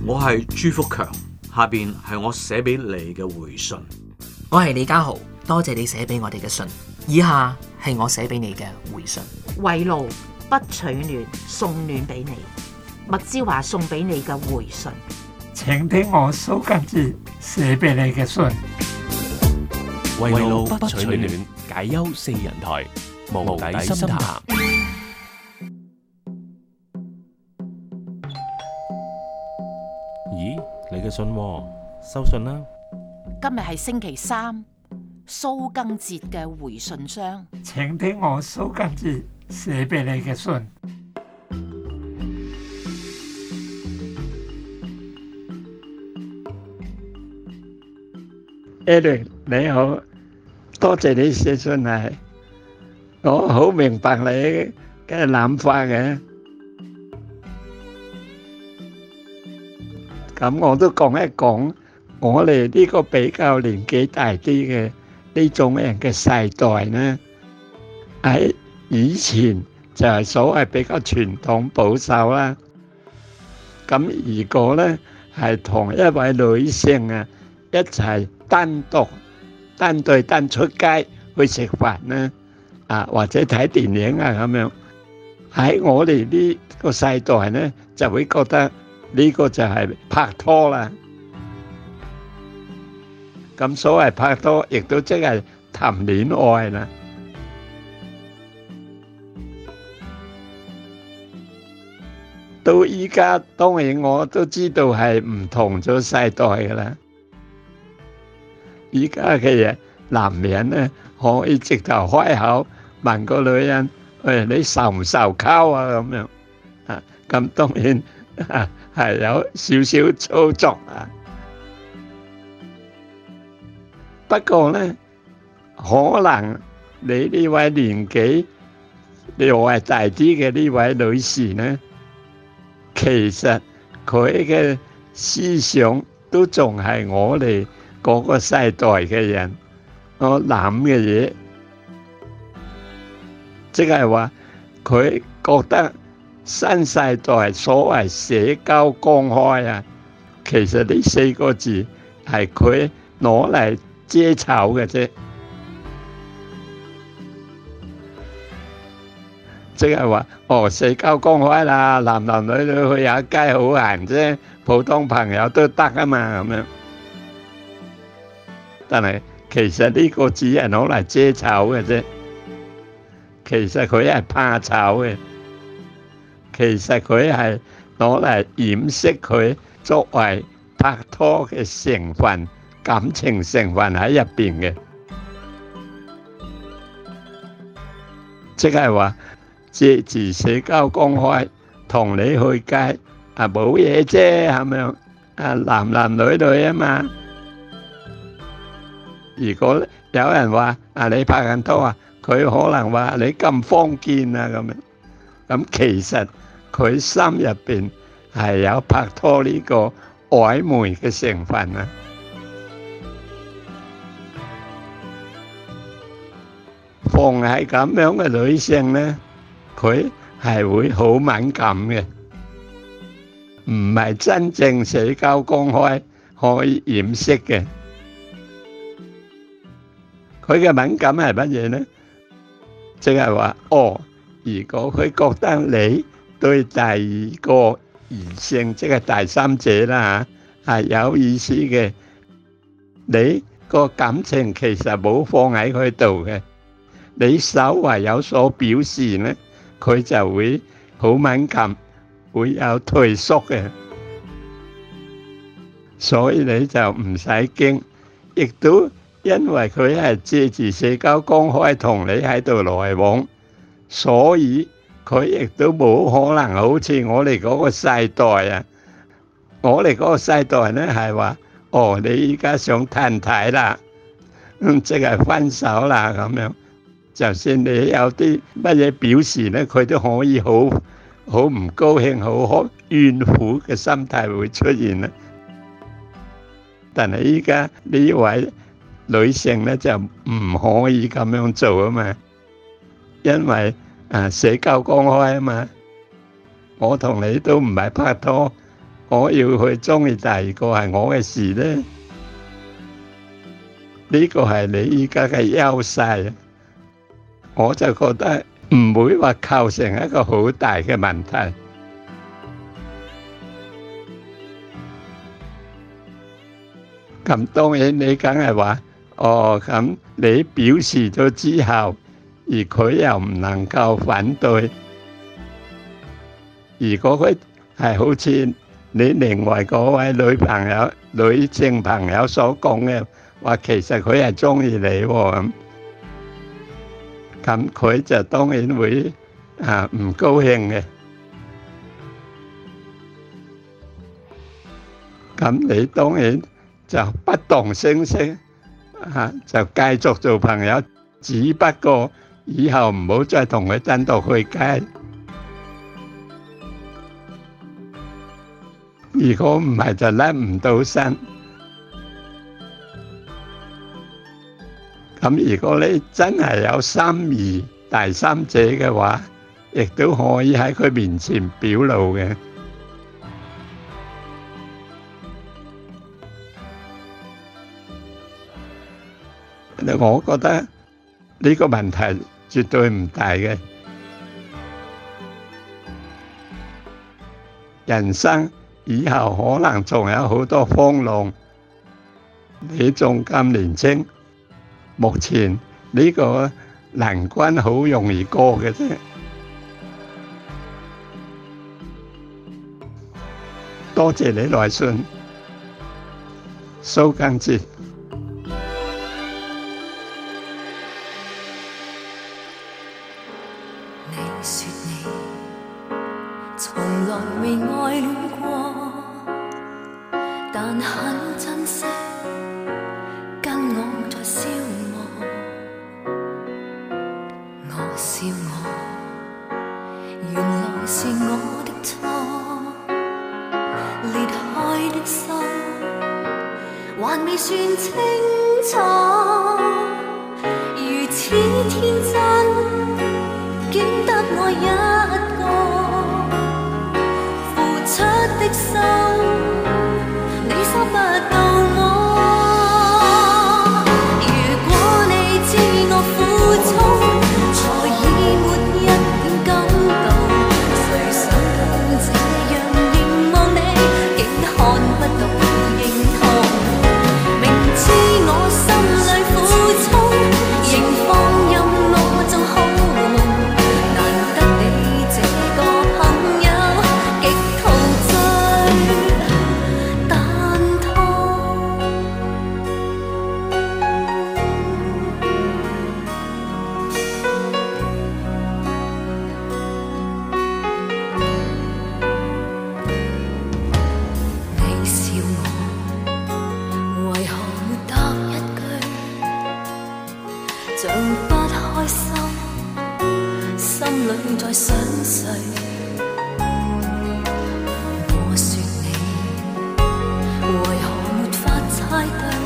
我係朱福強，下邊係我寫俾你嘅回信。 我係李家豪，多謝你寫俾我哋嘅信。以下係我寫俾你嘅回信。 圍爐不取暖，送暖俾你。麥之華送俾你嘅回信。 請聽我蘇賡哲寫俾你嘅信。 圍爐不取暖，解憂四人台，無底深談。咦，你嘅信喎，收信啦。 今日係星期三，蘇賡哲嘅回信箱。 請聽我蘇賡哲寫俾你嘅信。Eric 你好，多謝你寫信嚟，我好明白你嘅諗法嘅。咁我都講一講，我哋呢個比較年紀大啲嘅呢種人嘅世代呢，喺以前就係所謂比較傳統保守啦。咁如果呢係同一位女性啊一齊單對單出街去食飯呢，或者睇電影啊咁樣，喺我哋呢個世代呢就會覺得呢個就係拍拖啦。咁所謂拍拖，亦都即係談戀愛啦。到依家當然我都知道係唔同咗世代噶啦。依家嘅人男人咧可以直頭開口問個女人：喂，你受唔受溝啊？咁樣咁當然係有少少操作啊。不過咧，可能你呢位年紀又係大啲嘅呢位女士咧，其實佢嘅思想都仲係我哋嗰個世代嘅人我諗嘅嘢，即係話佢覺得新世代所謂社交公開啊，其實呢四個字係佢攞嚟遮醜嘅啫，即係話社交公開啦，男男女女去下街好閒啫，普通朋友都得啊嘛咁樣。但係其實呢個只係攞嚟遮醜嘅啫，其實佢係怕醜嘅，其實佢係攞嚟掩飾佢作為拍拖嘅成分、感情成分喺入邊嘅，即係話借住社交公開同你去街冇嘢啫，係咪男男女女啊嘛。如果有人話你拍緊拖啊，佢可能話你咁封建啊咁樣，咁其實佢心入邊係有拍拖呢個曖昧嘅成分啊。逢係咁樣嘅女性咧，佢係會好敏感嘅，唔係真正社交公開可以掩飾嘅。佢嘅敏感係乜嘢呢？即係話，如果佢覺得你對第二個異性，即係第三者啦嚇，係有意思嘅，你個感情其實冇放喺佢度嘅，你稍為有所表示呢，佢就會好敏感，會有退縮嘅，所以你就唔使驚，亦都。因為佢係借住社交公開同你喺度來往，所以佢亦都冇可能好似我哋嗰個世代啊，我哋嗰個世代呢係話，你依家想褪軚啦，即係分手啦咁樣，就算你有啲乜嘢表示呢，佢都可以好唔高興、好怨婦嘅心態會出現啦。但係依家呢位女性咧就唔可以咁樣做啊嘛，因為社交公開啊嘛，我同你都唔係拍拖， 我要去中意第二個係我嘅事呢？呢個係你依家嘅優勢，我就覺得唔會話構成一個好大嘅問題。咁當然你梗係話，咁你表示咗之後，而佢又唔能夠反對，如果佢係好似你另外嗰位女性朋友所講嘅話，其實佢係中意你喎，咁佢就當然會唔高興嘅。咁你當然就不動聲色就繼續做朋友，只不過以後唔好再同佢單獨去街。如果唔係就甩唔到身。咁如果你真係有心儀第三者嘅話，亦都可以喺佢面前表露嘅。我覺得呢個問題絕對唔大嘅。人生以後可能仲有好多風浪，你仲咁年輕，目前呢個難關好容易過嘅啫。多謝你來信，蘇賡哲。 你說你從來未愛戀過，但很珍惜跟我在消磨。我笑我，原來是我的錯，裂開的心還未算清楚，如此天真竟得我一個，付出的心你收不到我。如果你知我苦衷，才已沒一點感動，誰想到這樣凝望你，竟看不到認同。明知我心裏苦衷，仍放任我做好夢。難得你這個朋友，極陶醉但痛。你笑我，為何沒答一句，像不開心，心裏在想誰？我說你，為何沒法猜對？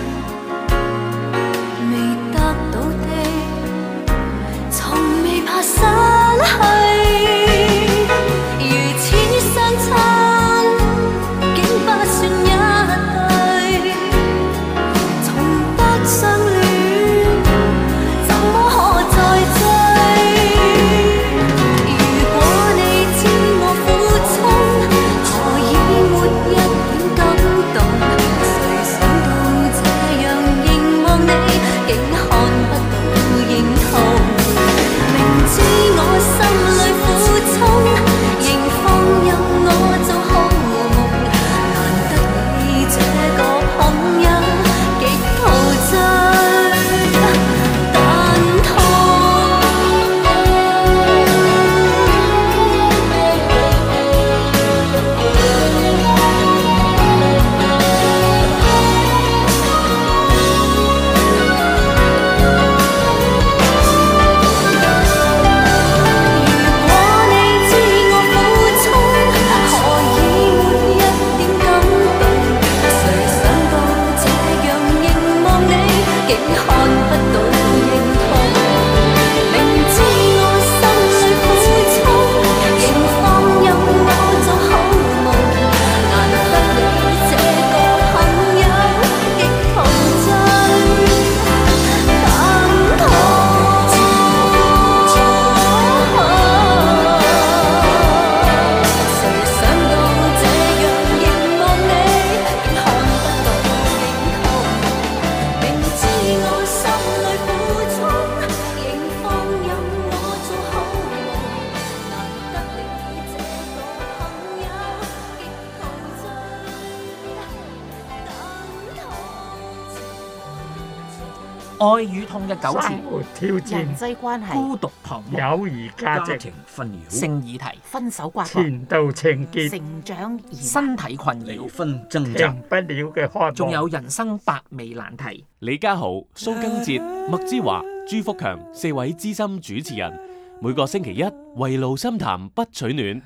未得到的，從未怕失去。如此相親，竟不算一對，從不相戀，怎麼可再追？如果你知愛與痛嘅糾纏， 生活挑人戰、 際關係、 孤獨彷徨， 友誼價值、 庭紛擾、 性議題， 分手瓜葛、 前度情結、 成長疑惑、 身體困離擾， 婚掙扎停，不了嘅渴望， 仲有人生百味難題。 李家豪、蘇更哲、麥之華、朱福強4位資深主持人，每個星期一圍爐深談不取暖。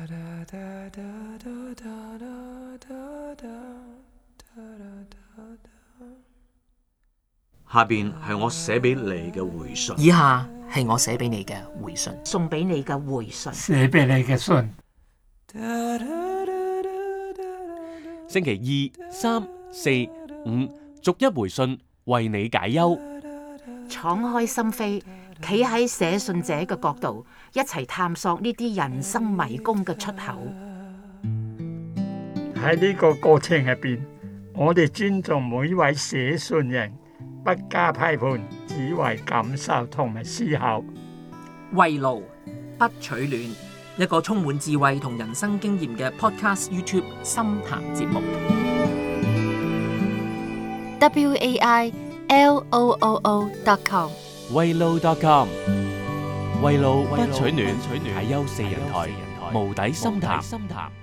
下邊係我寫俾你嘅回信。 以下係我寫俾你嘅回信。 送俾你嘅回信。 寫俾你嘅信。 星期2、3、4、5逐一回信，為你解憂。 敞開心扉，企喺寫信者嘅角度，一齊探索呢啲人生迷宮嘅出口。 喺呢個過程入邊，我哋尊重每一位寫信人，不加批判，只為感受同埋思考。 圍爐不取暖，一個充滿智慧同人生經驗嘅 Podcast YouTube 深談節目。 WAILOOO.com 圍爐 .com 圍爐不取暖，解憂4人台，無底深談。